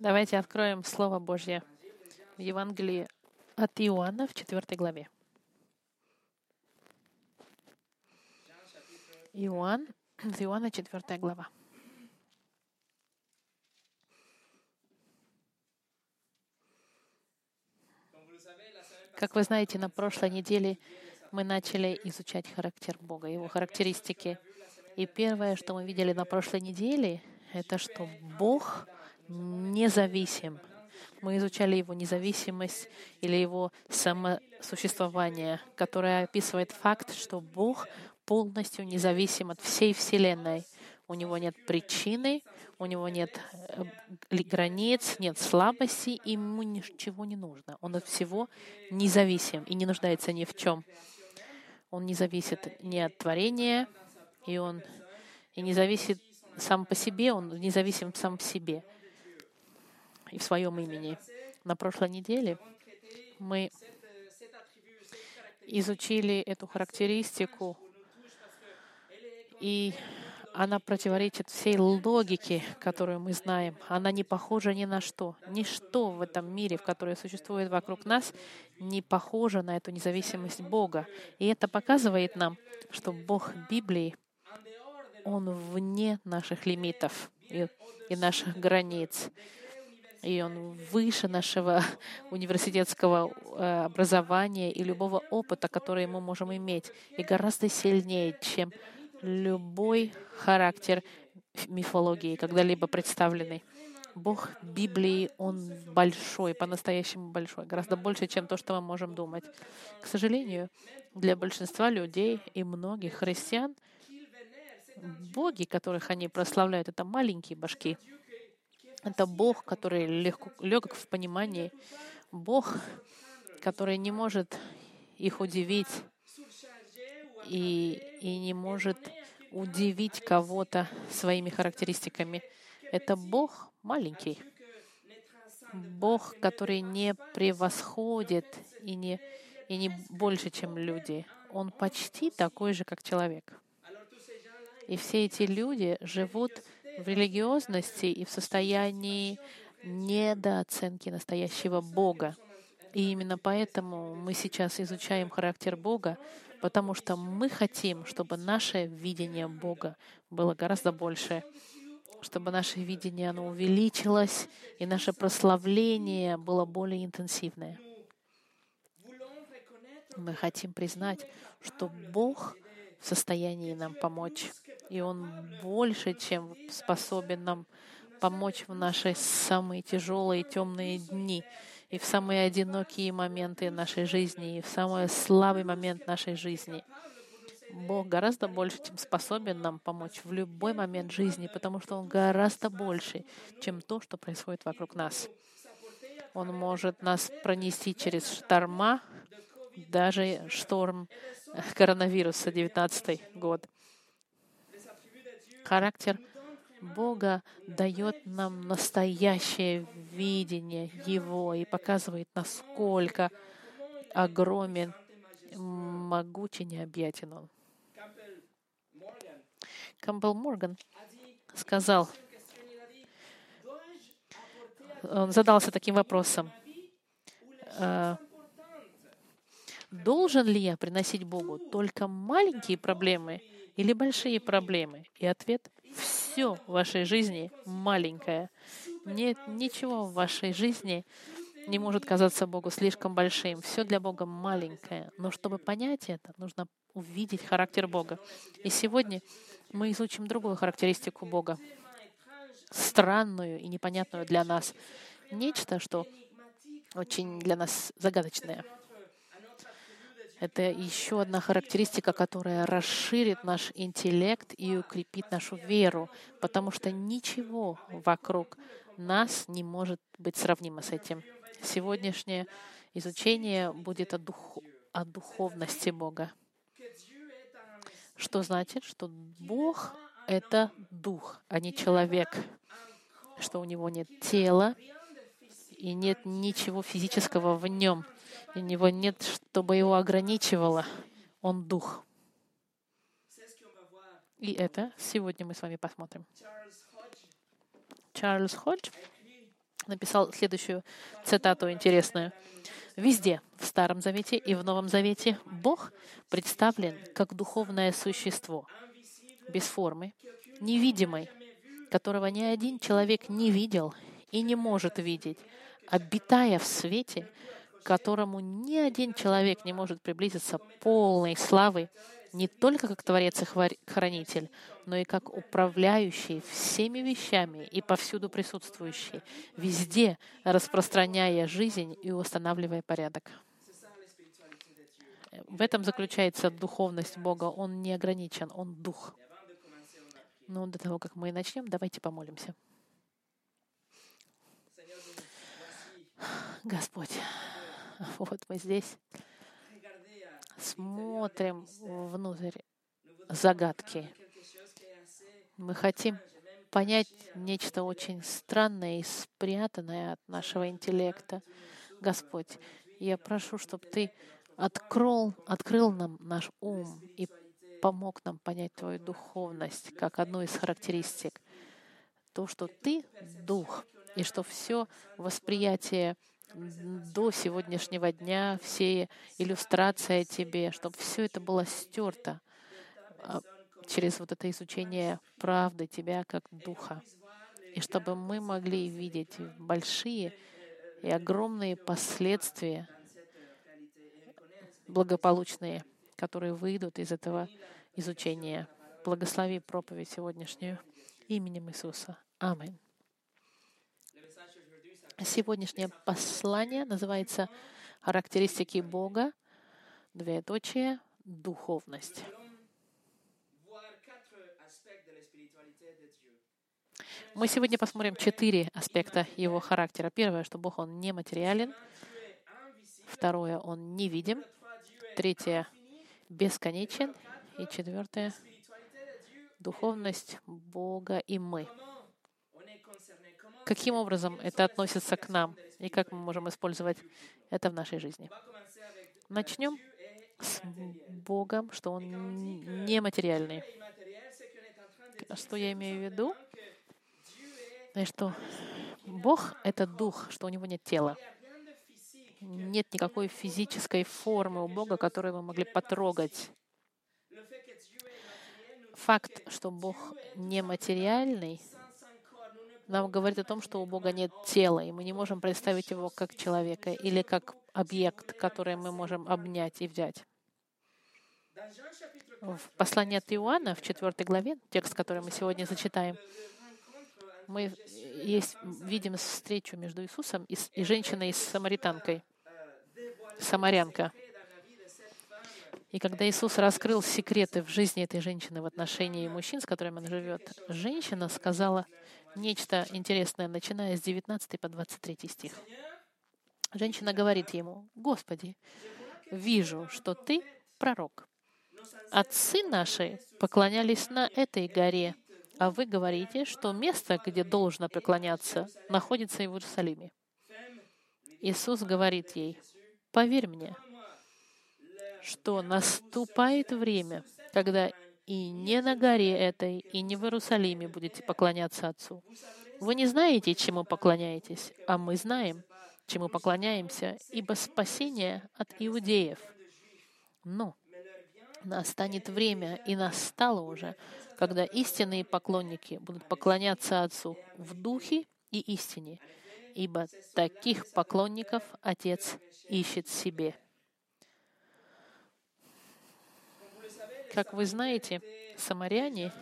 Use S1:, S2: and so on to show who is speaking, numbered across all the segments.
S1: Давайте откроем Слово Божье в Евангелии от Иоанна в 4 главе. Иоанна 4 глава. Как вы знаете, на прошлой неделе мы начали изучать характер Бога, Его характеристики. И первое, что мы видели на прошлой неделе, это что Бог независим. Мы изучали Его независимость или Его самосуществование, которое описывает факт, что Бог полностью независим от всей Вселенной. У Него нет причины, у Него нет границ, нет слабостей, и Ему ничего не нужно. Он от всего независим и не нуждается ни в чем. Он не зависит ни от творения, и Он не зависит сам по себе, Он независим сам в себе и в своем имени. На прошлой неделе мы изучили эту характеристику, и она противоречит всей логике, которую мы знаем. Она не похожа ни на что. Ничто в этом мире, в котором существует вокруг нас, не похоже на эту независимость Бога. И это показывает нам, что Бог Библии, Он вне наших лимитов и наших границ. И Он выше нашего университетского образования и любого опыта, который мы можем иметь, и гораздо сильнее, чем любой характер мифологии, когда-либо представленный. Бог Библии, Он большой, по-настоящему большой, гораздо больше, чем то, что мы можем думать. К сожалению, для большинства людей и многих христиан боги, которых они прославляют, это маленькие башки. Это Бог, который легок в понимании. Бог, который не может их удивить и не может удивить кого-то своими характеристиками. Это Бог маленький. Бог, который не превосходит и не больше, чем люди. Он почти такой же, как человек. И все эти люди живут в религиозности и в состоянии недооценки настоящего Бога. И именно поэтому мы сейчас изучаем характер Бога, потому что мы хотим, чтобы наше видение Бога было гораздо больше, чтобы наше видение оно увеличилось, и наше прославление было более интенсивное. Мы хотим признать, что Бог в состоянии нам помочь, и Он больше, чем способен нам помочь в наши самые тяжелые, темные дни, и в самые одинокие моменты нашей жизни, и в самый слабый момент нашей жизни. Бог гораздо больше, чем способен нам помочь в любой момент жизни, потому что Он гораздо больше, чем то, что происходит вокруг нас. Он может нас пронести через шторма, даже шторм коронавируса, 19-й год. Характер Бога дает нам настоящее видение Его и показывает, насколько огромен, могучий, необъятен Он. Кампбелл Морган сказал, он задался таким вопросом: должен ли я приносить Богу только маленькие проблемы или большие проблемы? И ответ: все в вашей жизни маленькое. Нет ничего в вашей жизни не может казаться Богу слишком большим. Все для Бога маленькое. Но чтобы понять это, нужно увидеть характер Бога. И сегодня мы изучим другую характеристику Бога, странную и непонятную для нас. Нечто, что очень для нас загадочное. Это еще одна характеристика, которая расширит наш интеллект и укрепит нашу веру, потому что ничего вокруг нас не может быть сравнимо с этим. Сегодняшнее изучение будет о духовности Бога. Что значит, что Бог — это дух, а не человек, что у Него нет тела и нет ничего физического в Нем. У Него нет, чтобы Его ограничивало. Он дух. И это сегодня мы с вами посмотрим. Чарльз Ходж написал следующую цитату интересную. Везде, в Старом Завете и в Новом Завете, Бог представлен как духовное существо, без формы, невидимый, которого ни один человек не видел и не может видеть, обитая в свете, к которому ни один человек не может приблизиться полной славы, не только как Творец и Хранитель, но и как управляющий всеми вещами и повсюду присутствующий, везде распространяя жизнь и устанавливая порядок. В этом заключается духовность Бога. Он не ограничен, Он Дух. Но до того, как мы начнем, давайте помолимся. Господь, вот мы здесь смотрим внутрь загадки. Мы хотим понять нечто очень странное и спрятанное от нашего интеллекта. Господь, я прошу, чтобы Ты открыл нам наш ум и помог нам понять Твою духовность как одну из характеристик. То, что Ты — Дух, и что все восприятие до сегодняшнего дня, все иллюстрации о Тебе, чтобы все это было стерто через вот это изучение правды Тебя как Духа. И чтобы мы могли видеть большие и огромные последствия благополучные, которые выйдут из этого изучения. Благослови проповедь сегодняшнюю именем Иисуса. Аминь. Сегодняшнее послание называется «Характеристики Бога», двоеточие, духовность. Мы сегодня посмотрим 4 аспекта Его характера. Первое, что Бог, Он нематериален. Второе, Он невидим. Третье, бесконечен. И четвертое, духовность Бога и мы. Каким образом это относится к нам и как мы можем использовать это в нашей жизни? Начнем с Богом, что Он нематериальный. Что я имею в виду? Что Бог — это Дух, что у Него нет тела. Нет никакой физической формы у Бога, которую мы могли потрогать. Факт, что Бог нематериальный, нам говорит о том, что у Бога нет тела, и мы не можем представить Его как человека или как объект, который мы можем обнять и взять. В послании от Иоанна, в 4 главе, текст, который мы сегодня зачитаем, мы видим встречу между Иисусом и женщиной самарянкой. И когда Иисус раскрыл секреты в жизни этой женщины в отношении мужчин, с которыми он живет, женщина сказала нечто интересное, начиная с 19 по 23 стих. Женщина говорит ему: «Господи, вижу, что Ты пророк. Отцы наши поклонялись на этой горе, а вы говорите, что место, где должно преклоняться, находится в Иерусалиме». Иисус говорит ей: «Поверь мне, что наступает время, когда и не на горе этой, и не в Иерусалиме будете поклоняться Отцу. Вы не знаете, чему поклоняетесь, а мы знаем, чему поклоняемся, ибо спасение от иудеев. Но настанет время, и настало уже, когда истинные поклонники будут поклоняться Отцу в духе и истине, ибо таких поклонников Отец ищет себе». Как вы знаете, самаряне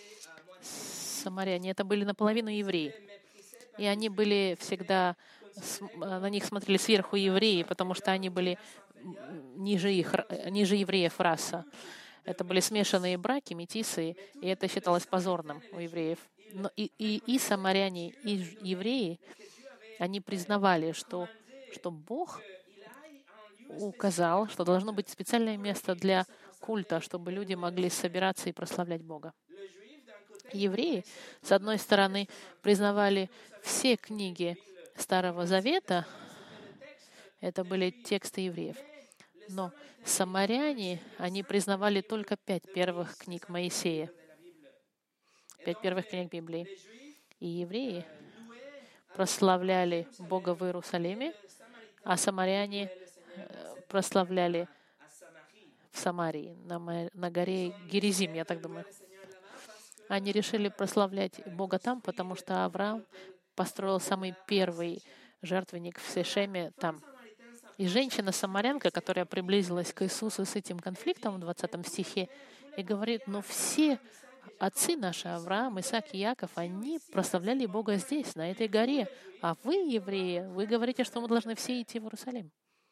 S1: это были наполовину евреи. И они были всегда, на них смотрели сверху евреи, потому что они были ниже евреев раса. Это были смешанные браки, метисы, и это считалось позорным у евреев. Но и самаряне, и евреи, они признавали, что Бог указал, что должно быть специальное место для культа, чтобы люди могли собираться и прославлять Бога. Евреи, с одной стороны, признавали все книги Старого Завета, это были тексты евреев. Но самаряне, они признавали только 5 первых книг Моисея, 5 первых книг Библии. И евреи прославляли Бога в Иерусалиме, а самаряне прославляли в Самарии, на горе Геризим, я так думаю. Они решили прославлять Бога там, потому что Авраам построил самый первый жертвенник в Сешеме там. И женщина-самарянка, которая приблизилась к Иисусу с этим конфликтом в 20 стихе, и говорит, но все отцы наши, Авраам, Исаак и Яков, они прославляли Бога здесь, на этой горе. А вы, евреи, вы говорите, что мы должны все идти в Иерусалим.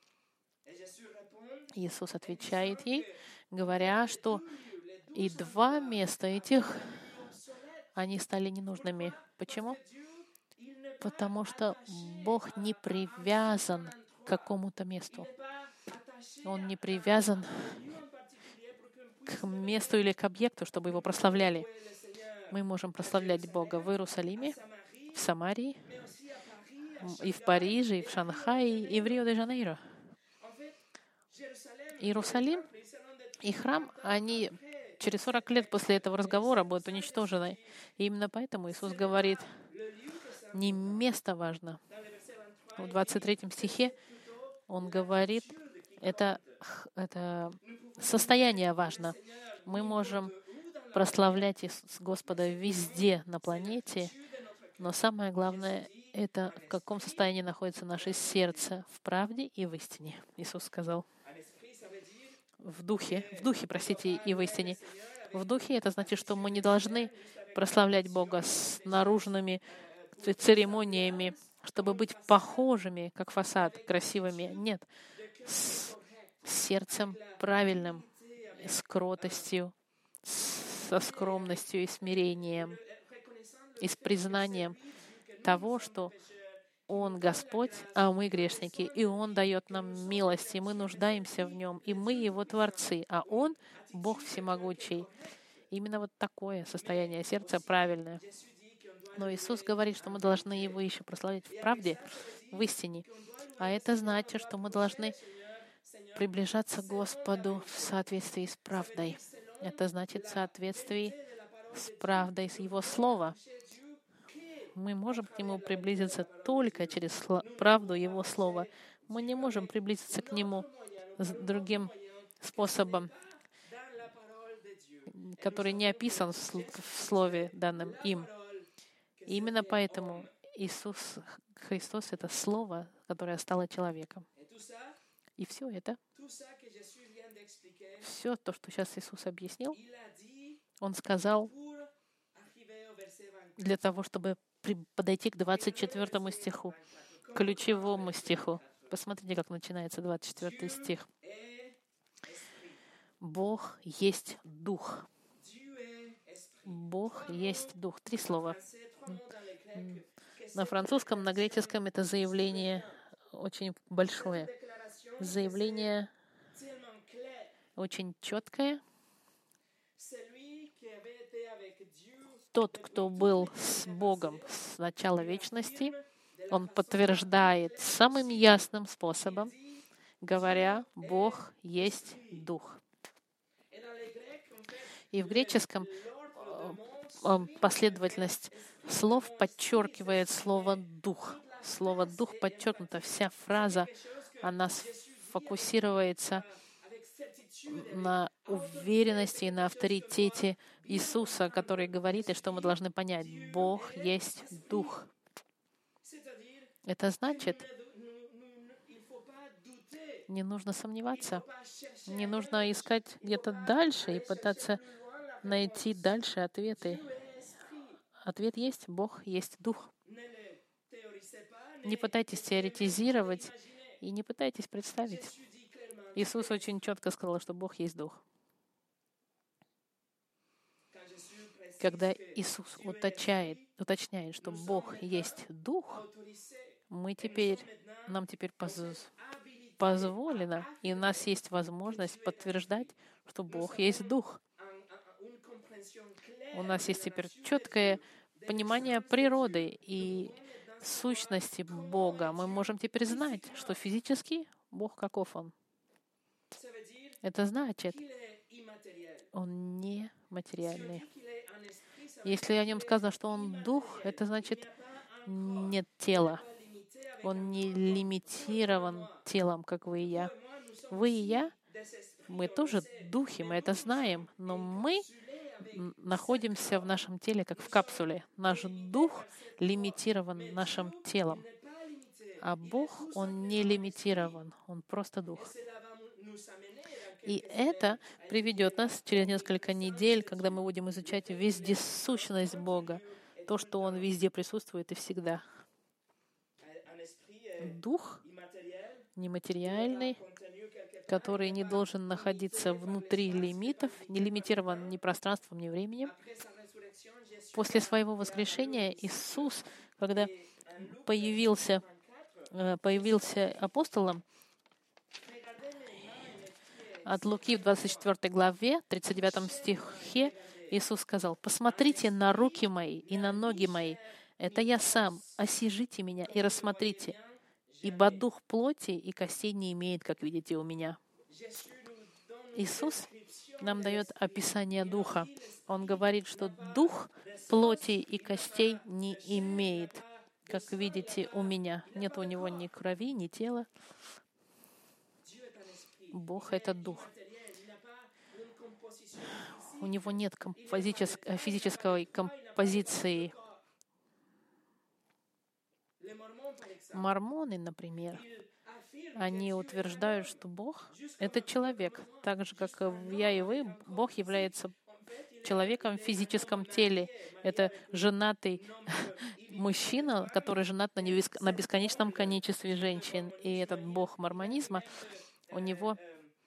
S1: Иисус отвечает ей, говоря, что и два места этих, они стали ненужными. Почему? Потому что Бог не привязан к какому-то месту. Он не привязан к месту или к объекту, чтобы его прославляли. Мы можем прославлять Бога в Иерусалиме, в Самарии, и в Париже, и в Шанхае, и в Рио-де-Жанейро. Иерусалим и храм, они через 40 лет после этого разговора будут уничтожены. И именно поэтому Иисус говорит, не место важно. В 23 стихе Он говорит, это состояние важно. Мы можем прославлять Господа везде на планете, но самое главное — это в каком состоянии находится наше сердце, в правде и в истине. Иисус сказал. В духе, простите, и в истине. В духе это значит, что мы не должны прославлять Бога с наружными церемониями, чтобы быть похожими, как фасад, красивыми. Нет. С сердцем правильным, с кротостью, со скромностью и смирением, и с признанием того, что Он Господь, а мы грешники, и Он дает нам милость, и мы нуждаемся в Нем, и мы Его творцы, а Он — Бог всемогучий. Именно вот такое состояние сердца правильное. Но Иисус говорит, что мы должны Его еще прославить в правде, в истине. А это значит, что мы должны приближаться к Господу в соответствии с правдой. Это значит в соответствии с правдой, с Его Слова. Мы можем к Нему приблизиться только через правду Его Слова. Мы не можем приблизиться к Нему с другим способом, который не описан в Слове, данном им. И именно поэтому Иисус Христос — это Слово, которое стало человеком. И все это, все то, что сейчас Иисус объяснил, Он сказал для того, чтобы подойти к 24 стиху, ключевому стиху. Посмотрите, как начинается 24 стих. Бог есть Дух. Бог есть Дух. 3 слова. На французском, на греческом это заявление очень большое. Заявление очень четкое. Тот, кто был с Богом с начала вечности, он подтверждает самым ясным способом, говоря, Бог есть Дух. И в греческом последовательность слов подчеркивает слово «дух». Слово «дух» подчеркнуто. Вся фраза, она фокусируется на уверенности и на авторитете Иисуса, который говорит, и что мы должны понять. Бог есть Дух. Это значит, не нужно сомневаться, не нужно искать где-то дальше и пытаться найти дальше ответы. Ответ есть, Бог есть Дух. Не пытайтесь теоретизировать и не пытайтесь представить. Иисус очень четко сказал, что Бог есть Дух. Когда Иисус уточняет, что Бог есть Дух, нам теперь позволено, и у нас есть возможность подтверждать, что Бог есть Дух. У нас есть теперь четкое понимание природы и сущности Бога. Мы можем теперь знать, что физически Бог каков Он. Это значит, Он не материальный. Если о Нем сказано, что Он Дух, это значит, нет тела. Он не лимитирован телом, как вы и я. Вы и я, мы тоже духи, мы это знаем, но мы находимся в нашем теле, как в капсуле. Наш дух лимитирован нашим телом. А Бог, Он не лимитирован, Он просто Дух. И это приведет нас через несколько недель, когда мы будем изучать вездесущность Бога, то, что Он везде присутствует и всегда. Дух нематериальный, который не должен находиться внутри лимитов, не лимитирован ни пространством, ни временем. После своего воскрешения Иисус, когда появился апостолом, от Луки в 24 главе, 39 стихе, Иисус сказал: «Посмотрите на руки мои и на ноги мои. Это я сам. Осижите меня и рассмотрите. Ибо дух плоти и костей не имеет, как видите у меня». Иисус нам дает описание духа. Он говорит, что дух плоти и костей не имеет, как видите у меня. Нет у него ни крови, ни тела. Бог — это дух. У него нет физической композиции. Мормоны, например, они утверждают, что Бог — это человек. Так же, как и я и вы, Бог является человеком в физическом теле. Это женатый мужчина, который женат на бесконечном количестве женщин. И этот Бог мормонизма, у него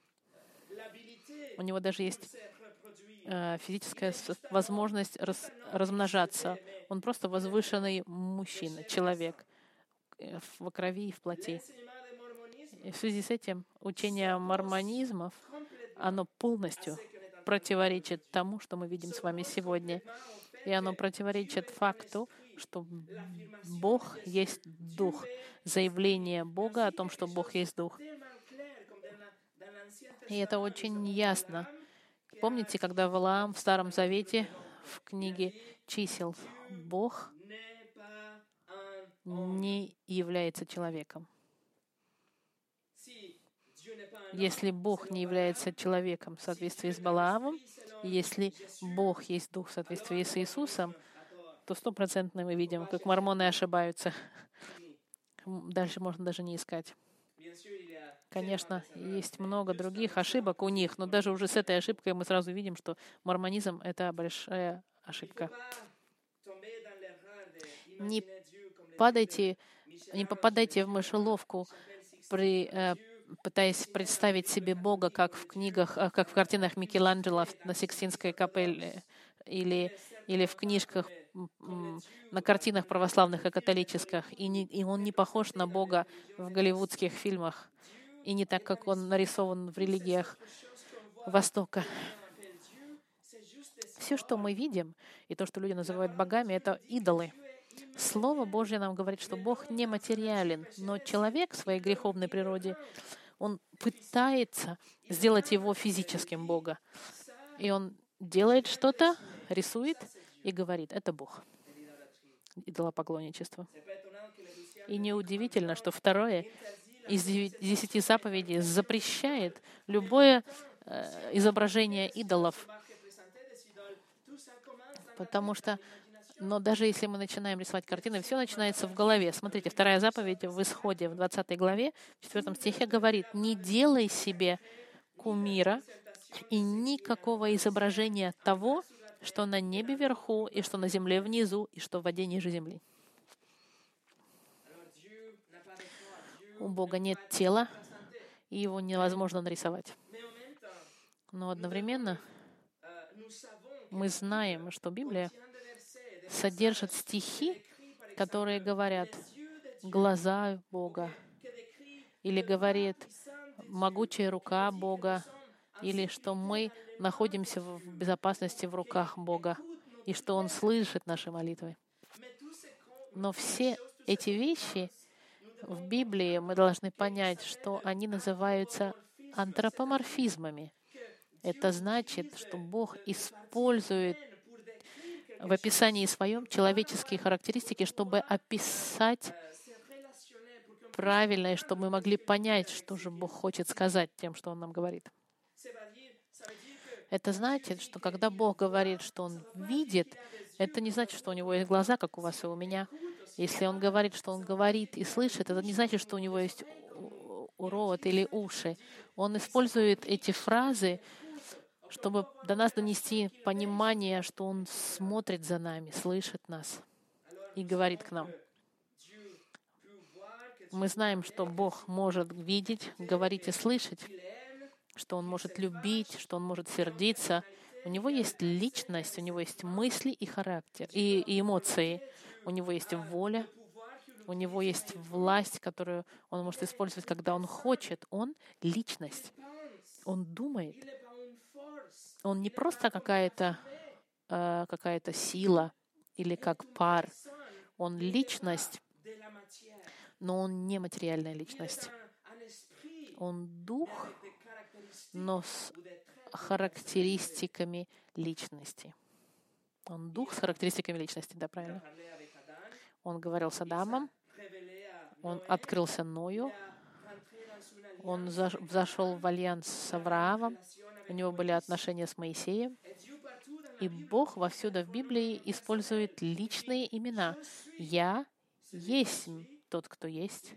S1: даже есть физическая возможность размножаться. Он просто возвышенный мужчина, человек в крови и в плоти. И в связи с этим учение мормонизмов, оно полностью противоречит тому, что мы видим с вами сегодня. И оно противоречит факту, что Бог есть Дух. Заявление Бога о том, что Бог есть Дух. И это очень ясно. Помните, когда Валаам в Старом Завете, в книге «Чисел», Бог не является человеком. Если Бог не является человеком в соответствии с Валаамом, если Бог есть Дух в соответствии с Иисусом, то 100% мы видим, как мормоны ошибаются. Дальше можно даже не искать. Конечно, есть много других ошибок у них, но даже уже с этой ошибкой мы сразу видим, что мормонизм — это большая ошибка. Не попадайте в мышеловку, пытаясь представить себе Бога, как в книгах, как в картинах Микеланджело на Сикстинской капелле или в книжках, на картинах православных и католических. И он не похож на Бога в голливудских фильмах, и не так, как он нарисован в религиях Востока. Все, что мы видим, и то, что люди называют богами, это идолы. Слово Божье нам говорит, что Бог нематериален, но человек в своей греховной природе, он пытается сделать его физическим Бога. И он делает что-то, рисует и говорит: это Бог. Идолопоклонничество. И неудивительно, что второе из 10 заповедей запрещает любое изображение идолов. Потому что, но даже если мы начинаем рисовать картины, все начинается в голове. Смотрите, вторая заповедь в Исходе, в 20 главе, в 4 стихе говорит: «Не делай себе кумира и никакого изображения того, что на небе вверху, и что на земле внизу, и что в воде ниже земли». У Бога нет тела, и его невозможно нарисовать. Но одновременно мы знаем, что Библия содержит стихи, которые говорят «глаза Бога», или говорит «могучая рука Бога», или что мы находимся в безопасности в руках Бога, и что Он слышит наши молитвы. Но все эти вещи в Библии мы должны понять, что они называются антропоморфизмами. Это значит, что Бог использует в описании своем человеческие характеристики, чтобы описать правильно, и чтобы мы могли понять, что же Бог хочет сказать тем, что Он нам говорит. Это значит, что когда Бог говорит, что Он видит, это не значит, что у Него есть глаза, как у вас и у меня. Если Он говорит, что Он говорит и слышит, это не значит, что у Него есть рот или уши. Он использует эти фразы, чтобы до нас донести понимание, что Он смотрит за нами, слышит нас и говорит к нам. Мы знаем, что Бог может видеть, говорить и слышать, что Он может любить, что Он может сердиться. У Него есть личность, у Него есть мысли и характер, и эмоции. У Него есть воля, у Него есть власть, которую Он может использовать, когда Он хочет. Он — личность. Он думает. Он не просто какая-то сила или как пар. Он личность, но Он не материальная личность. Он дух, но с характеристиками личности. Он дух с характеристиками личности, да, правильно? Он говорил с Адамом, он открылся Ною, он взошел в альянс с Авраамом, у него были отношения с Моисеем. И Бог вовсюду в Библии использует личные имена. «Я есть тот, кто есть».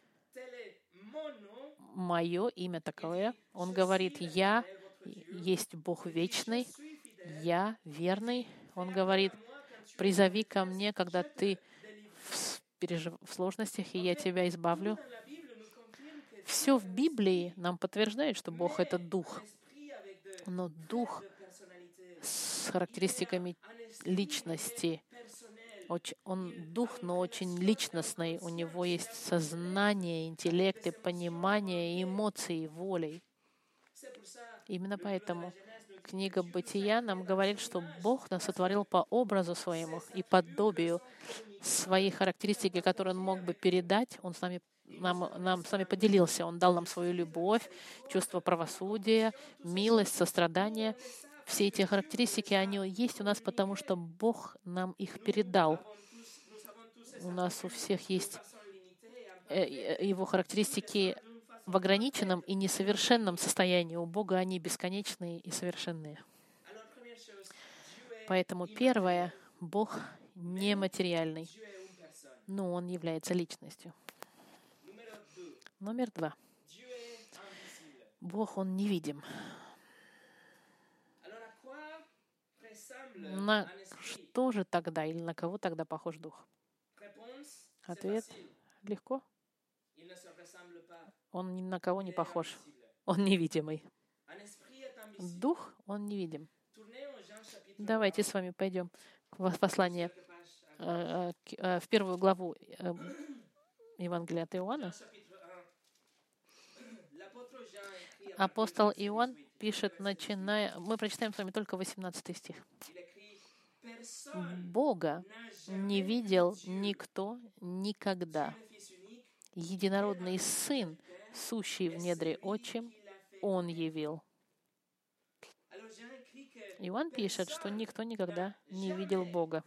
S1: Мое имя такое. Он говорит: «Я есть Бог вечный, я верный». Он говорит: «Призови ко мне, когда ты в сложностях, и я тебя избавлю». Все в Библии нам подтверждает, что Бог — это Дух. Но Дух с характеристиками личности. Он Дух, но очень личностный. У него есть сознание, интеллект, и понимание, и эмоции, и воля. Именно поэтому книга Бытия нам говорит, что Бог нас сотворил по образу своему и подобию. Свои характеристики, которые Он мог бы передать, Он с нами нам с нами поделился. Он дал нам свою любовь, чувство правосудия, милость, сострадание. Все эти характеристики, они есть у нас, потому что Бог нам их передал. У нас у всех есть Его характеристики в ограниченном и несовершенном состоянии. У Бога они бесконечные и совершенные. Поэтому первое, Бог нематериальный, но Он является личностью. Номер 2. Бог, Он невидим. На что же тогда или на кого тогда похож Дух? Ответ легко. Он ни на кого не похож. Он невидимый. Дух, Он невидим. Давайте с вами пойдем в послание, в первую главу Евангелия от Иоанна. Апостол Иоанн пишет, мы прочитаем с вами только 18 стих. «Бога не видел никто никогда. Единородный Сын, сущий в недре Отчим, Он явил». Иоанн пишет, что никто никогда не видел Бога.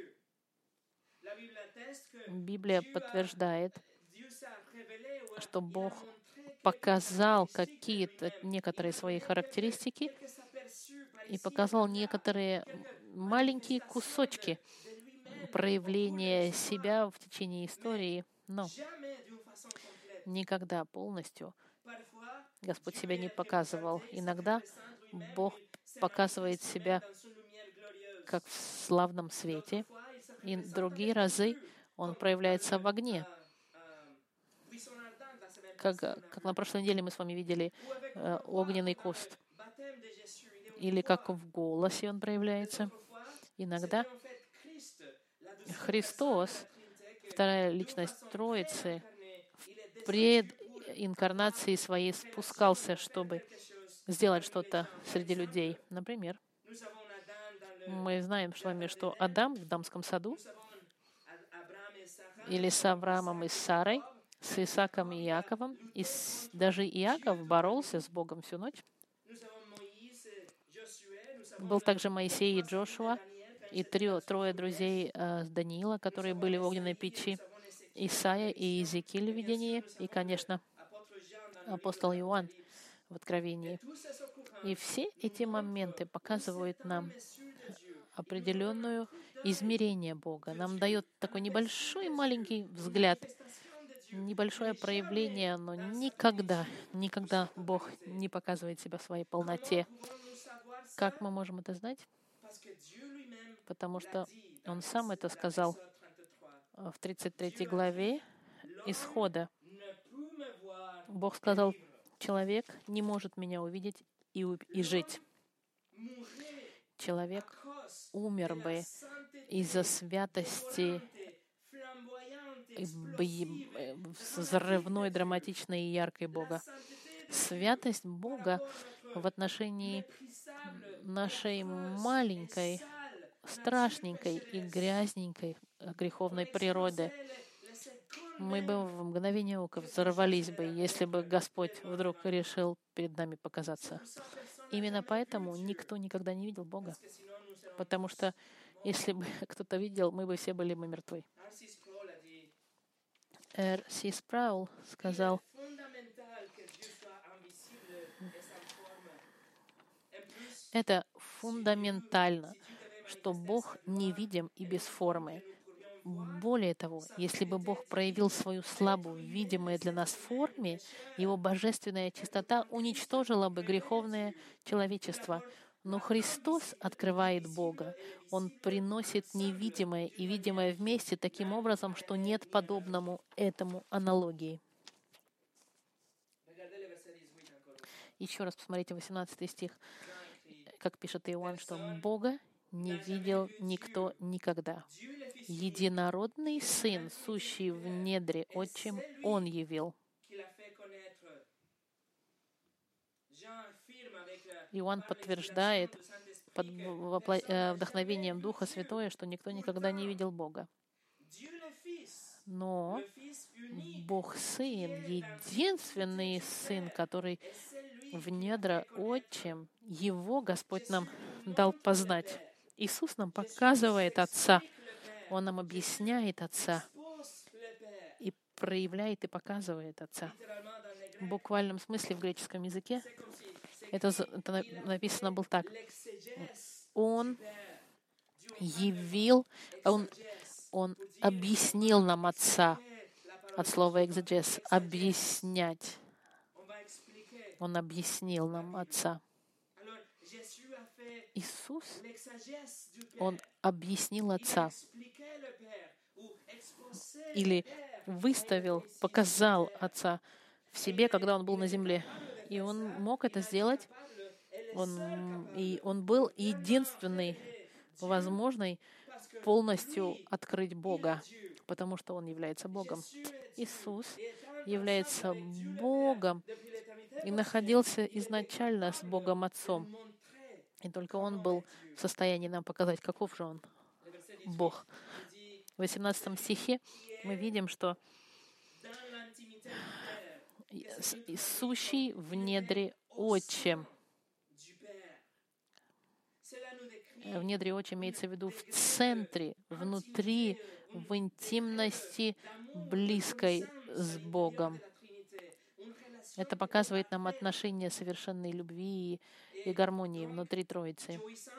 S1: Библия подтверждает, что Бог показал некоторые свои характеристики и показал некоторые маленькие кусочки проявления себя в течение истории, но никогда полностью Господь себя не показывал. Иногда Бог показывает себя как в славном свете, и другие разы Он проявляется в огне. Как на прошлой неделе мы с вами видели огненный куст. Или как в голосе Он проявляется. Иногда Христос, вторая личность Троицы, в прединкарнации своей спускался, чтобы сделать что-то среди людей. Например, мы знаем с вами, что Адам в Эдемском саду, или с Авраамом и с Сарой, с Исааком и Иаковом, и даже Иаков боролся с Богом всю ночь. Был также Моисей и Джошуа, и трое друзей Даниила, которые были в огненной печи, Исаия и Иезекииль в видении, и, конечно, апостол Иоанн в Откровении. И все эти моменты показывают нам определенное измерение Бога. Нам дает такой небольшой маленький взгляд, небольшое проявление, но никогда Бог не показывает себя в своей полноте. Как мы можем это знать? Потому что Он сам это сказал в 33 главе Исхода. Бог сказал: человек не может меня увидеть и жить. Человек умер бы из-за святости взрывной, драматичной и яркой Бога. Святость Бога в отношении нашей маленькой, страшненькой и грязненькой греховной природы. Мы бы в мгновение ока взорвались бы, если бы Господь вдруг решил перед нами показаться. Именно поэтому никто никогда не видел Бога. Потому что если бы кто-то видел, мы бы все были мертвы. Р.С. Спраул сказал: это фундаментально, что Бог невидим и без формы. Более того, если бы Бог проявил свою славу в видимой для нас форме, Его божественная чистота уничтожила бы греховное человечество. Но Христос открывает Бога. Он приносит невидимое и видимое вместе таким образом, что нет подобному этому аналогии. Еще раз посмотрите 18 стих, как пишет Иоанн, что Бога не видел никто никогда. Единородный Сын, сущий в недре Отчим, Он явил. Иоанн подтверждает под вдохновением Духа Святого, что никто никогда не видел Бога. Но Бог Сын, единственный Сын, который в недра Отчим, Его Господь нам дал познать. Иисус нам показывает Отца. Он нам объясняет Отца и проявляет и показывает Отца. В буквальном смысле в греческом языке это написано было так. Он явил, он объяснил нам Отца. От слова «экзегес» — объяснять. Он объяснил нам Отца. Иисус, Он объяснил Отца. Или выставил, показал Отца в себе, когда Он был на земле. И Он мог это сделать. Он был единственный, возможный, полностью открыть Бога, потому что Он является Богом. Иисус является Богом и находился изначально с Богом Отцом. И только Он был в состоянии нам показать, каков же Он, Бог. В 18 стихе мы видим, что сущий в недре Отчим. В недре Отчим имеется в виду в центре, внутри, в интимности, близкой с Богом. Это показывает нам отношение совершенной любви и гармонии внутри Троицы.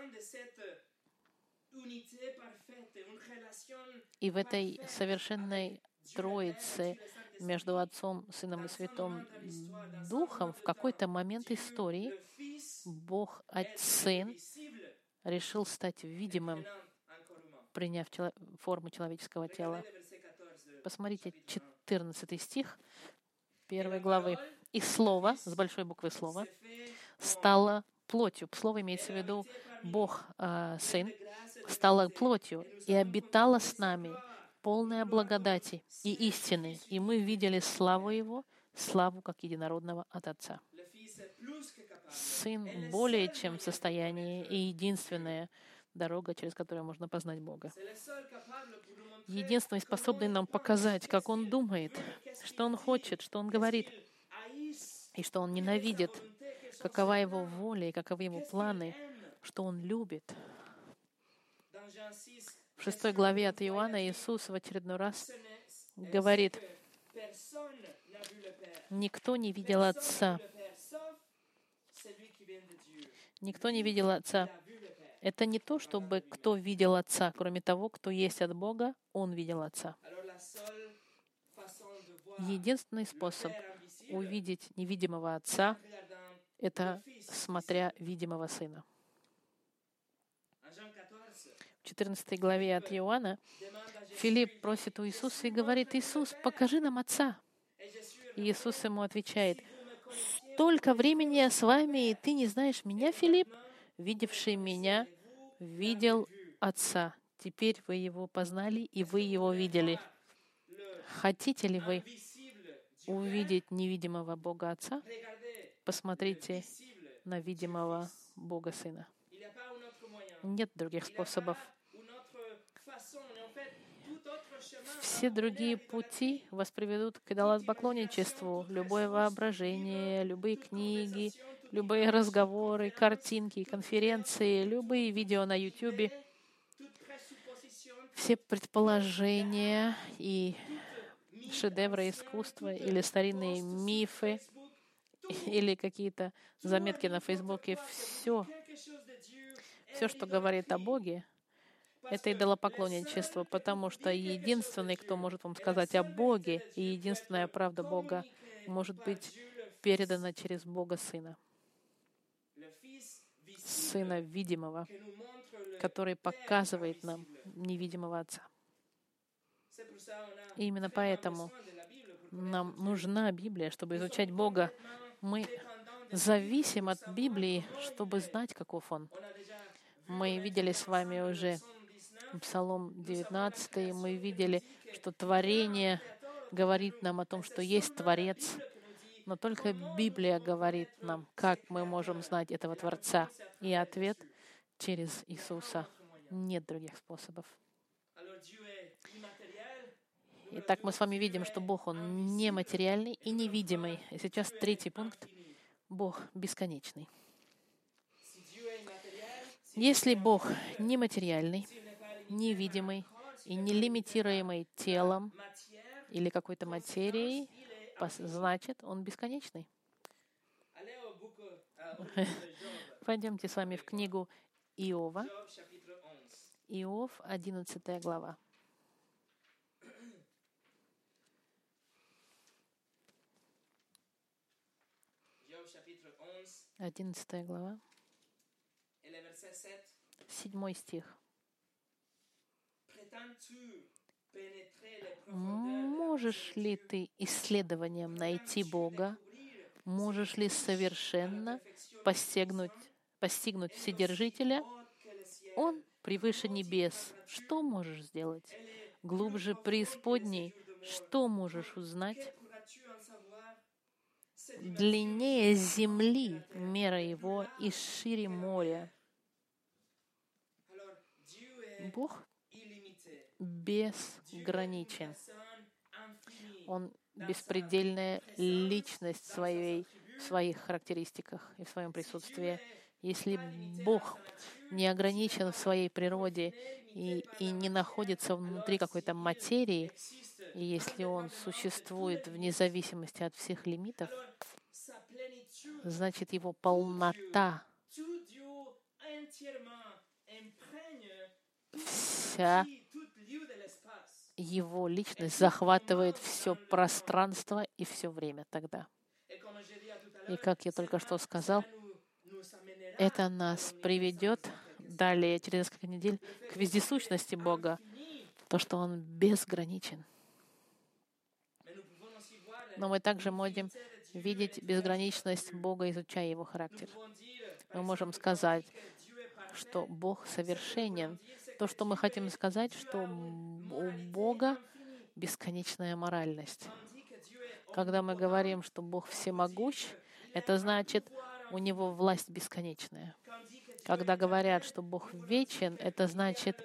S1: И в этой совершенной Троице между Отцом, Сыном и Святым Духом в какой-то момент истории Бог, Сын, решил стать видимым, приняв форму человеческого тела. Посмотрите, 14 стих 1 главы. «И Слово, с большой буквы Слово, стало плотью». Слово имеется в виду Бог, Сын, стало плотью и обитало с нами, полная благодати и истины. И мы видели славу Его, славу как единородного от Отца. Сын более чем в состоянии и единственная дорога, через которую можно познать Бога. Единственный, способный нам показать, как Он думает, что Он хочет, что Он говорит, и что Он ненавидит, какова Его воля и каковы Его планы, что Он любит. В 6 главе от Иоанна Иисус в очередной раз говорит: «Никто не видел Отца». Никто не видел Отца. Это не то, чтобы кто видел Отца, кроме того, кто есть от Бога, он видел Отца. Единственный способ увидеть невидимого Отца — это смотря видимого Сына. В 14 главе от Иоанна Филипп просит у Иисуса и говорит: «Иисус, покажи нам Отца». И Иисус ему отвечает: «Столько времени я с вами, и ты не знаешь меня, Филипп? Видевший меня, видел Отца. Теперь вы Его познали, и вы Его видели». Хотите ли вы увидеть невидимого Бога Отца? Посмотрите на видимого Бога Сына. Нет других способов. Все другие пути вас приведут к идолопоклонничеству. Любое воображение, любые книги, любые разговоры, картинки, конференции, любые видео на YouTube, все предположения и шедевры искусства или старинные мифы или какие-то заметки на Фейсбуке, все, что говорит о Боге, это идолопоклонничество, потому что единственный, кто может вам сказать о Боге, и единственная правда Бога может быть передана через Бога Сына. Сына видимого, который показывает нам невидимого Отца. И именно поэтому нам нужна Библия, чтобы изучать Бога. Мы зависим от Библии, чтобы знать, каков Он. Мы видели с вами уже Псалом 19, мы видели, что творение говорит нам о том, что есть Творец, но только Библия говорит нам, как мы можем знать этого Творца. И ответ — через Иисуса. Нет других способов. Итак, мы с вами видим, что Бог, Он нематериальный и невидимый. И сейчас третий пункт. Бог бесконечный. Если Бог нематериальный, невидимый и нелимитируемый телом или какой-то материей, значит, Он бесконечный. Пойдемте с вами в книгу Иова. Иов, 11 глава. 11 глава, 7 стих. «Можешь ли ты исследованием найти Бога? Можешь ли совершенно постигнуть Вседержителя? Он превыше небес. Что можешь сделать? Глубже преисподней. Что можешь узнать? Длиннее земли мера его и шире моря». Бог безграничен. Он беспредельная личность в своих характеристиках и в своем присутствии. Если Бог не ограничен в своей природе и не находится внутри какой-то материи, и если Он существует вне зависимости от всех лимитов, значит, Его полнота, вся Его личность захватывает все пространство и все время тогда. И как я только что сказал, это нас приведет далее, через несколько недель, к вездесущности Бога, то, что Он безграничен. Но мы также можем видеть безграничность Бога, изучая Его характер. Мы можем сказать, что Бог совершенен. То, что мы хотим сказать, что у Бога бесконечная моральность. Когда мы говорим, что Бог всемогущ, это значит, у Него власть бесконечная. Когда говорят, что Бог вечен, это значит,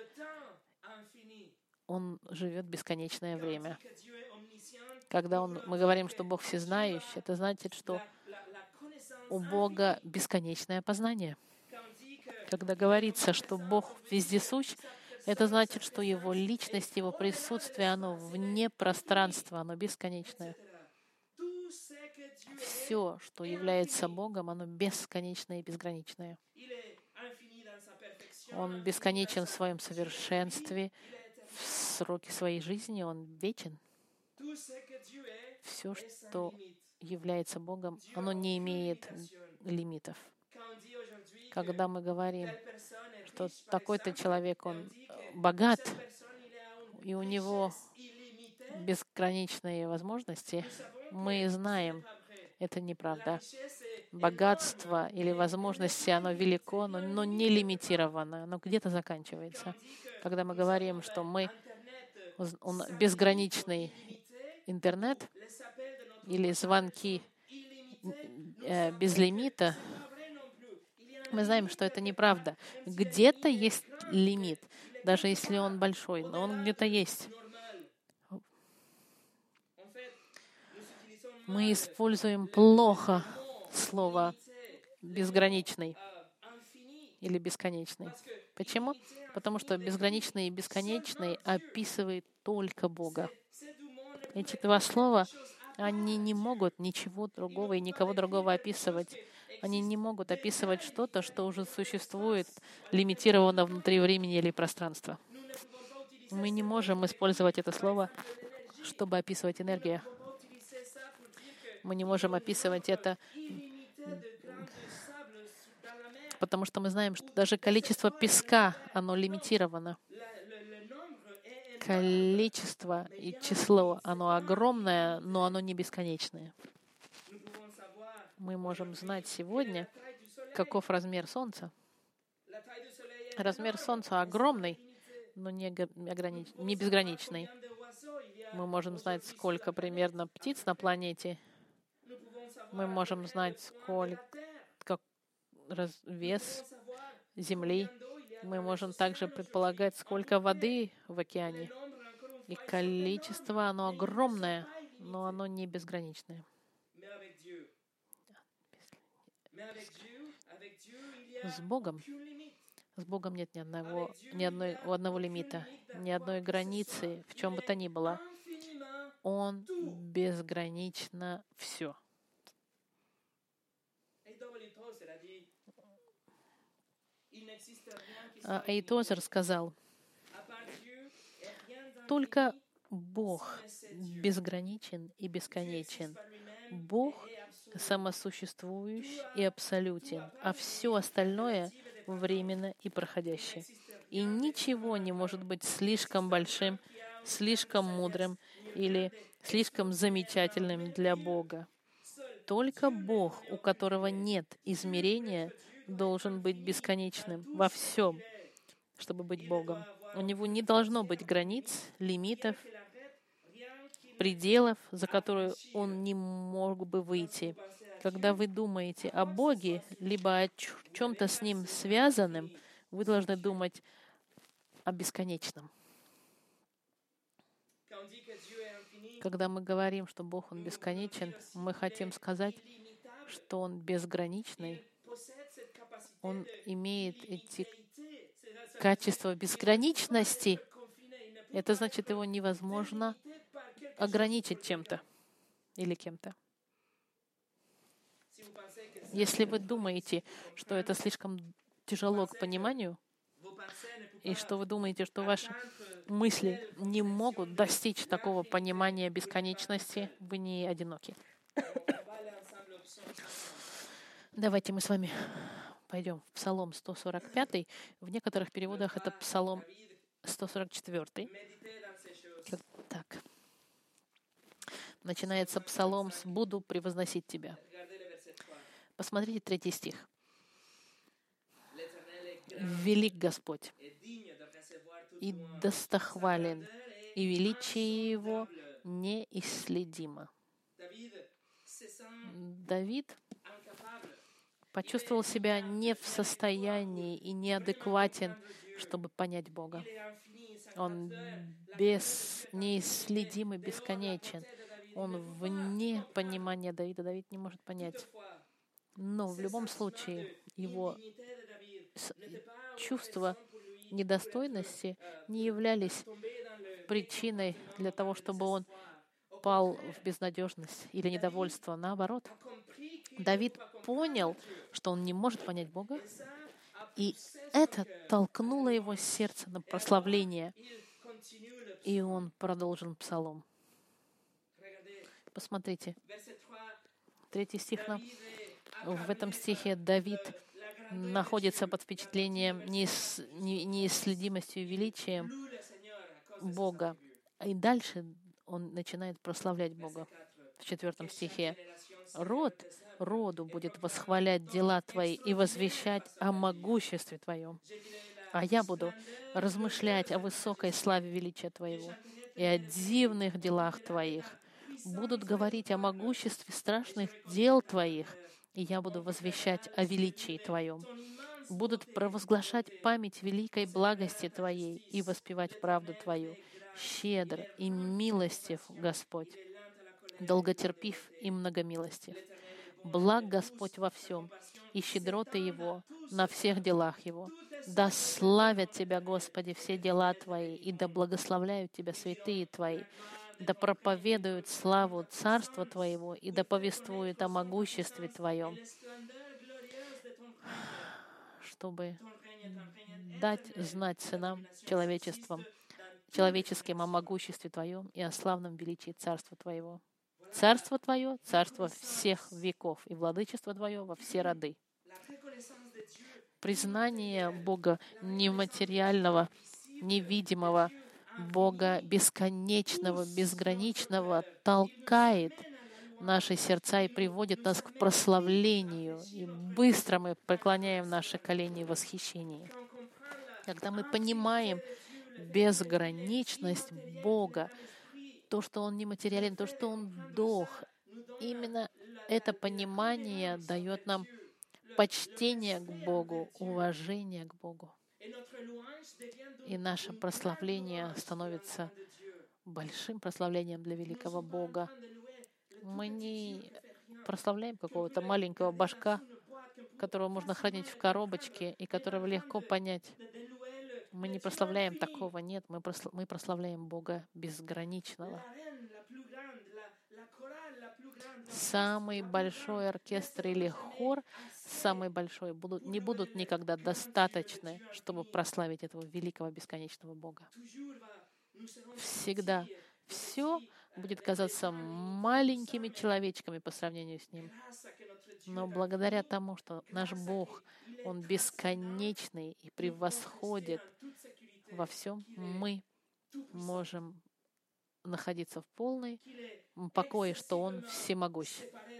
S1: Он живет бесконечное время. Когда мы говорим, что Бог всезнающий, это значит, что у Бога бесконечное познание. Когда говорится, что Бог вездесущ, Это значит, что Его личность, Его присутствие, оно вне пространства, оно бесконечное. Все, что является Богом, оно бесконечное и безграничное. Он бесконечен в своем совершенстве, в сроке своей жизни, Он вечен. Все, что является Богом, оно не имеет лимитов. Когда мы говорим, что такой-то человек, он богат, и у него безграничные возможности, мы знаем, это неправда. Богатство или возможности, оно велико, но не лимитировано, оно где-то заканчивается. Когда мы говорим, что безграничный интернет или звонки без лимита, мы знаем, что это неправда. Где-то есть лимит, даже если он большой, но он где-то есть. Мы используем плохо слово «безграничный» или «бесконечный». Почему? Потому что безграничный и бесконечный описывает только Бога. Эти два слова, они не могут ничего другого и никого другого описывать. Они не могут описывать что-то, что уже существует, лимитировано внутри времени или пространства. Мы не можем использовать это слово, чтобы описывать энергию. Мы не можем описывать это, потому что мы знаем, что даже количество песка, оно лимитировано. Количество и число, оно огромное, но оно не бесконечное. Мы можем знать сегодня, каков размер Солнца. Размер Солнца огромный, но не безграничный. Мы можем знать, сколько примерно птиц на планете. Мы можем знать, сколько вес Земли. Мы можем также предполагать, сколько воды в океане. И количество, оно огромное, но оно не безграничное. С Богом нет ни одного лимита, ни одной границы, в чем бы то ни было. Он безгранично все. Эйтозер сказал, только Бог безграничен и бесконечен. Бог самосуществующий и абсолютен, а все остальное временно и проходящее. И ничего не может быть слишком большим, слишком мудрым или слишком замечательным для Бога. Только Бог, у которого нет измерения, должен быть бесконечным во всем, чтобы быть Богом. У него не должно быть границ, лимитов, пределов, за которые он не мог бы выйти. Когда вы думаете о Боге, либо о чем-то с Ним связанном, вы должны думать о бесконечном. Когда мы говорим, что Бог, Он бесконечен, мы хотим сказать, что Он безграничный. Он имеет эти качества безграничности. Это значит, его невозможно ограничить чем-то или кем-то. Если вы думаете, что это слишком тяжело к пониманию, и что вы думаете, что ваши мысли не могут достичь такого понимания бесконечности, вы не одиноки. Давайте мы с вами пойдем в Псалом 145. В некоторых переводах это Псалом 144. Так. Начинается Псалом с «Буду превозносить Тебя». Посмотрите 3 стих. «Велик Господь, и достохвален, и величие Его неисследимо». Давид почувствовал себя не в состоянии и неадекватен, чтобы понять Бога. Он неисследим и бесконечен. Он вне понимания Давида. Давид не может понять. Но в любом случае его чувство недостойности не являлись причиной для того, чтобы он пал в безнадежность или недовольство. Наоборот, Давид понял, что он не может понять Бога, и это толкнуло его сердце на прославление, и он продолжил псалом. Посмотрите, 3 стих. В этом стихе Давид находится под впечатлением неисследимостью и величием Бога. И дальше он начинает прославлять Бога. В 4 стихе. «Род роду будет восхвалять дела Твои и возвещать о могуществе Твоем. А я буду размышлять о высокой славе величия Твоего и о дивных делах Твоих. Будут говорить о могуществе страшных дел Твоих, и я буду возвещать о величии Твоем. Будут провозглашать память великой благости Твоей и воспевать правду Твою. Щедр и милостив Господь, долготерпив и многомилостив. Благ Господь во всем, и щедроты Его на всех делах Его. Да славят Тебя, Господи, все дела Твои, и да благословляют Тебя святые Твои. Да проповедуют славу Царства Твоего, и да повествуют о могуществе Твоем, чтобы дать знать сынам человеческим о могуществе Твоем и о славном величии Царства Твоего. Царство Твое — царство всех веков, и владычество Твое во все роды». Признание Бога нематериального, невидимого, Бога бесконечного, безграничного толкает наши сердца и приводит нас к прославлению. И быстро мы преклоняем наши колени в восхищении. Когда мы понимаем безграничность Бога, то, что Он нематериален, то, что Он Дух, именно это понимание дает нам почтение к Богу, уважение к Богу. И наше прославление становится большим прославлением для великого Бога. Мы не прославляем какого-то маленького башка, которого можно хранить в коробочке и которого легко понять. Мы не прославляем такого, нет, мы прославляем Бога безграничного. Самый большой оркестр или хор, самый большой, не будут никогда достаточны, чтобы прославить этого великого бесконечного Бога. Всегда все будет казаться маленькими человечками по сравнению с Ним. Но благодаря тому, что наш Бог, Он бесконечный и превосходит во всем, мы можем находиться в полной покое, что Он всемогущ,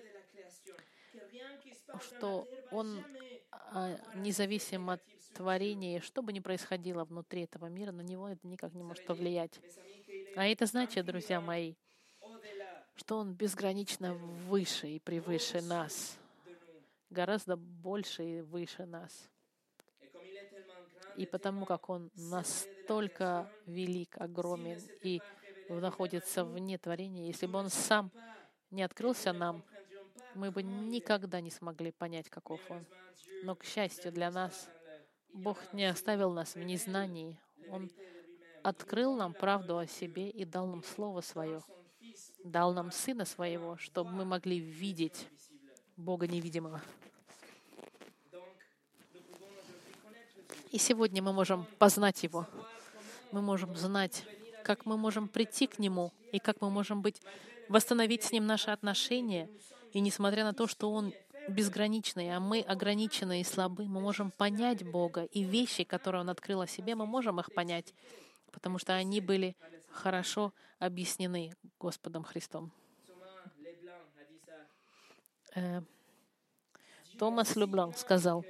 S1: что Он независим от творения, что бы ни происходило внутри этого мира, на Него это никак не может повлиять. А это значит, друзья мои, что Он безгранично выше и превыше нас, гораздо больше и выше нас. И потому как Он настолько велик, огромен и находится вне творения, если бы Он сам не открылся нам, мы бы никогда не смогли понять, каков Он. Но, к счастью для нас, Бог не оставил нас в незнании. Он открыл нам правду о себе и дал нам Слово Свое, дал нам Сына Своего, чтобы мы могли видеть Бога невидимого. И сегодня мы можем познать Его. Мы можем знать, как мы можем прийти к Нему, и как мы можем восстановить с Ним наши отношения. И несмотря на то, что Он безграничный, а мы ограничены и слабы, мы можем понять Бога. И вещи, которые Он открыл о себе, мы можем их понять, потому что они были хорошо объяснены Господом Христом. Томас Люблан сказал: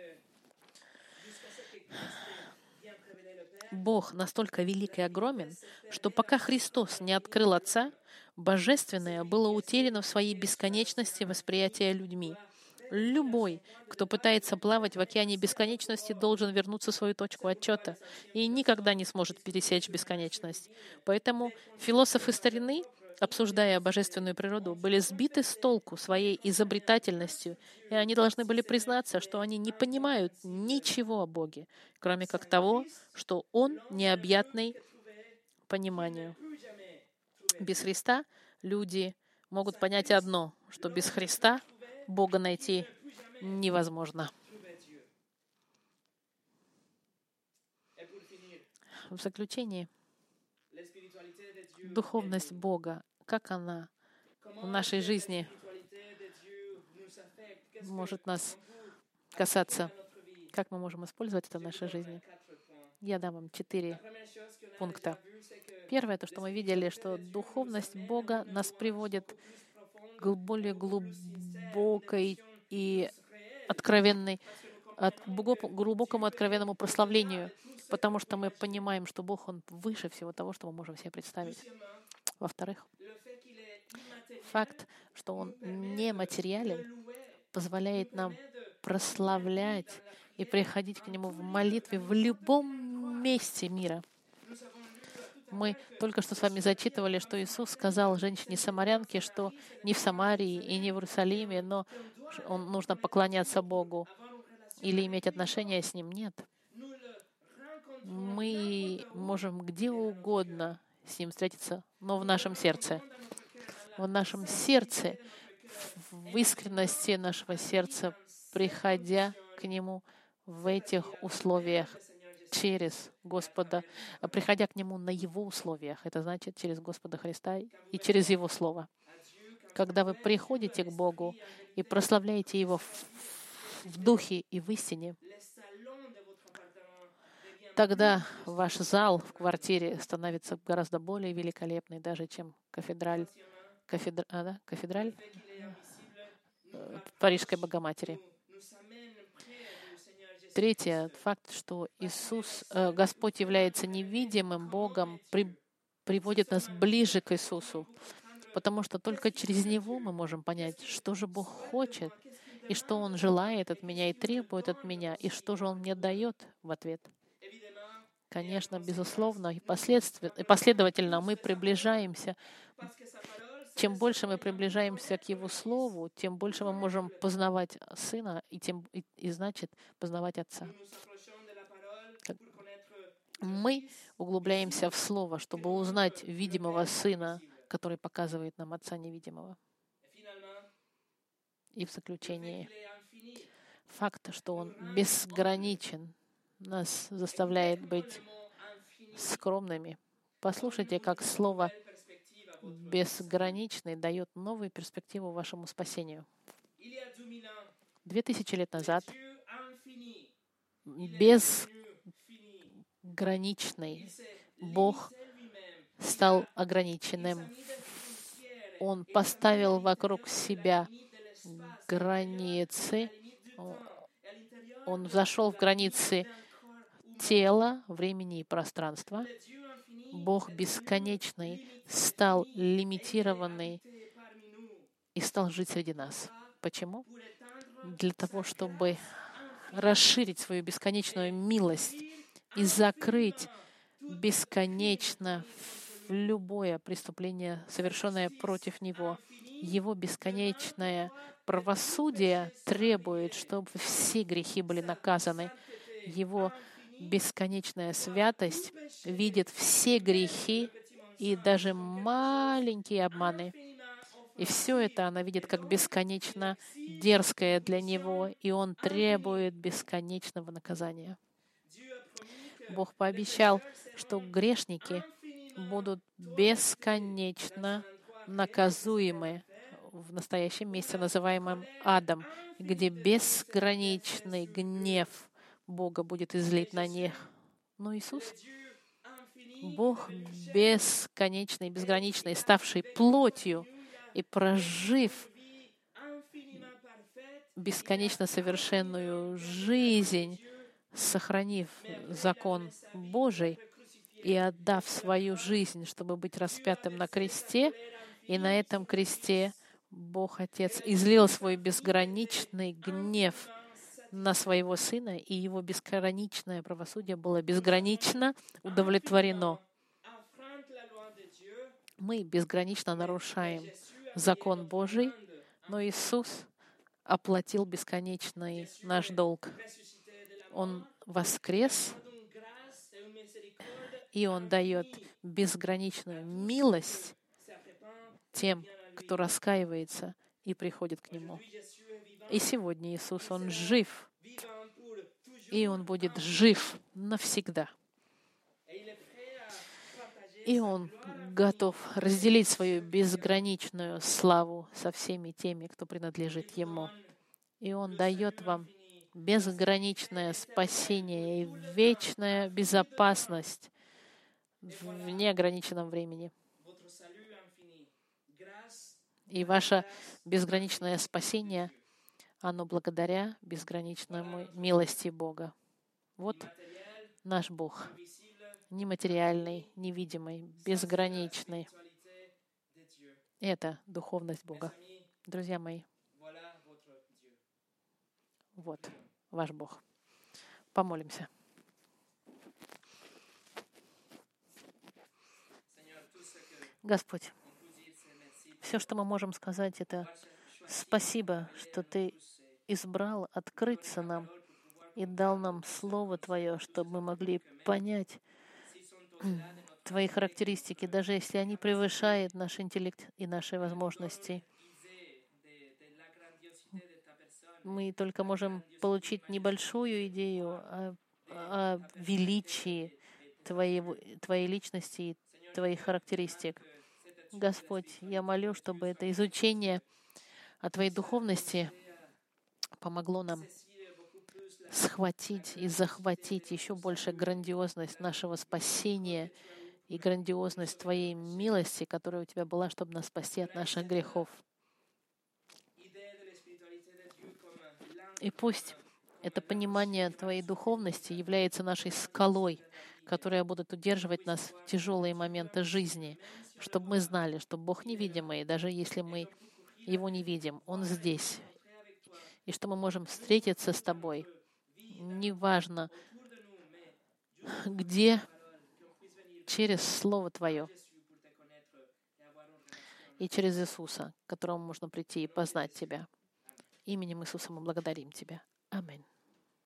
S1: Бог настолько велик и огромен, что пока Христос не открыл Отца, Божественное было утеряно в своей бесконечности восприятия людьми. Любой, кто пытается плавать в океане бесконечности, должен вернуться в свою точку отчета и никогда не сможет пересечь бесконечность. Поэтому философы старины обсуждая божественную природу, были сбиты с толку своей изобретательностью, и они должны были признаться, что они не понимают ничего о Боге, кроме как того, что Он необъятный пониманию. Без Христа люди могут понять одно, что без Христа Бога найти невозможно. В заключении, духовность Бога, как она в нашей жизни может нас касаться, как мы можем использовать это в нашей жизни. Я дам вам 4 пункта. Первое, то, что мы видели, что духовность Бога нас приводит к более глубокой и откровенной, глубокому откровенному прославлению, потому что мы понимаем, что Бог, Он выше всего того, что мы можем себе представить. Во-вторых, факт, что Он нематериален, позволяет нам прославлять и приходить к Нему в молитве в любом месте мира. Мы только что с вами зачитывали, что Иисус сказал женщине-самарянке, что не в Самарии и не в Иерусалиме, но нужно поклоняться Богу или иметь отношения с Ним. Нет. Мы можем где угодно с Ним встретиться, но в нашем сердце. В нашем сердце, в искренности нашего сердца, приходя к Нему в этих условиях, через Господа, приходя к Нему на Его условиях. Это значит через Господа Христа и через Его Слово. Когда вы приходите к Богу и прославляете Его в духе и в истине, тогда ваш зал в квартире становится гораздо более великолепный, даже чем кафедраль Парижской Богоматери. Третье, факт, что Господь является невидимым Богом, приводит нас ближе к Иисусу, потому что только через Него мы можем понять, что же Бог хочет, и что Он желает от меня и требует от меня, и что же Он мне дает в ответ. Конечно, безусловно, и последовательно мы приближаемся. Чем больше мы приближаемся к Его Слову, тем больше мы можем познавать Сына, и значит, познавать Отца. Мы углубляемся в Слово, чтобы узнать видимого Сына, который показывает нам Отца невидимого. И в заключении, факт, что Он безграничен, нас заставляет быть скромными. Послушайте, как слово «безграничный» дает новую перспективу вашему спасению. 2000 лет назад безграничный Бог стал ограниченным. Он поставил вокруг себя границы. Он зашел в границы тела, времени и пространства. Бог бесконечный стал лимитированный и стал жить среди нас. Почему? Для того, чтобы расширить свою бесконечную милость и закрыть бесконечно любое преступление, совершенное против Него. Его бесконечное правосудие требует, чтобы все грехи были наказаны. Его бесконечная святость видит все грехи и даже маленькие обманы. И все это она видит как бесконечно дерзкое для Него, и Он требует бесконечного наказания. Бог пообещал, что грешники будут бесконечно наказуемы в настоящем месте, называемом адом, где безграничный гнев Бога будет излит на них. Но Иисус, Бог бесконечный, безграничный, ставший плотью и прожив бесконечно совершенную жизнь, сохранив закон Божий и отдав свою жизнь, чтобы быть распятым на кресте, и на этом кресте Бог Отец излил свой безграничный гнев на своего Сына, и Его безграничное правосудие было безгранично удовлетворено. Мы безгранично нарушаем закон Божий, но Иисус оплатил бесконечный наш долг. Он воскрес, и Он дает безграничную милость тем, кто раскаивается и приходит к Нему. И сегодня Иисус, Он жив, и Он будет жив навсегда. И Он готов разделить свою безграничную славу со всеми теми, кто принадлежит Ему. И Он дает вам безграничное спасение и вечная безопасность в неограниченном времени. И ваше безграничное спасение, оно благодаря безграничной милости Бога. Вот наш Бог, нематериальный, невидимый, безграничный. Это духовность Бога. Друзья мои, вот ваш Бог. Помолимся. Господь, все, что мы можем сказать, это спасибо, что Ты избрал открыться нам и дал нам Слово Твое, чтобы мы могли понять Твои характеристики, даже если они превышают наш интеллект и наши возможности. Мы только можем получить небольшую идею о величии Твоей личности и Твоих характеристик. Господь, я молю, чтобы это изучение о Твоей духовности помогло нам схватить и захватить еще больше грандиозность нашего спасения и грандиозность Твоей милости, которая у Тебя была, чтобы нас спасти от наших грехов. И пусть это понимание Твоей духовности является нашей скалой, которая будет удерживать нас в тяжелые моменты жизни, чтобы мы знали, что Бог невидимый, даже если мы Его не видим, Он здесь, и что мы можем встретиться с Тобой, неважно где, через Слово Твое и через Иисуса, к которому можно прийти и познать Тебя. Именем Иисуса мы благодарим Тебя. Аминь.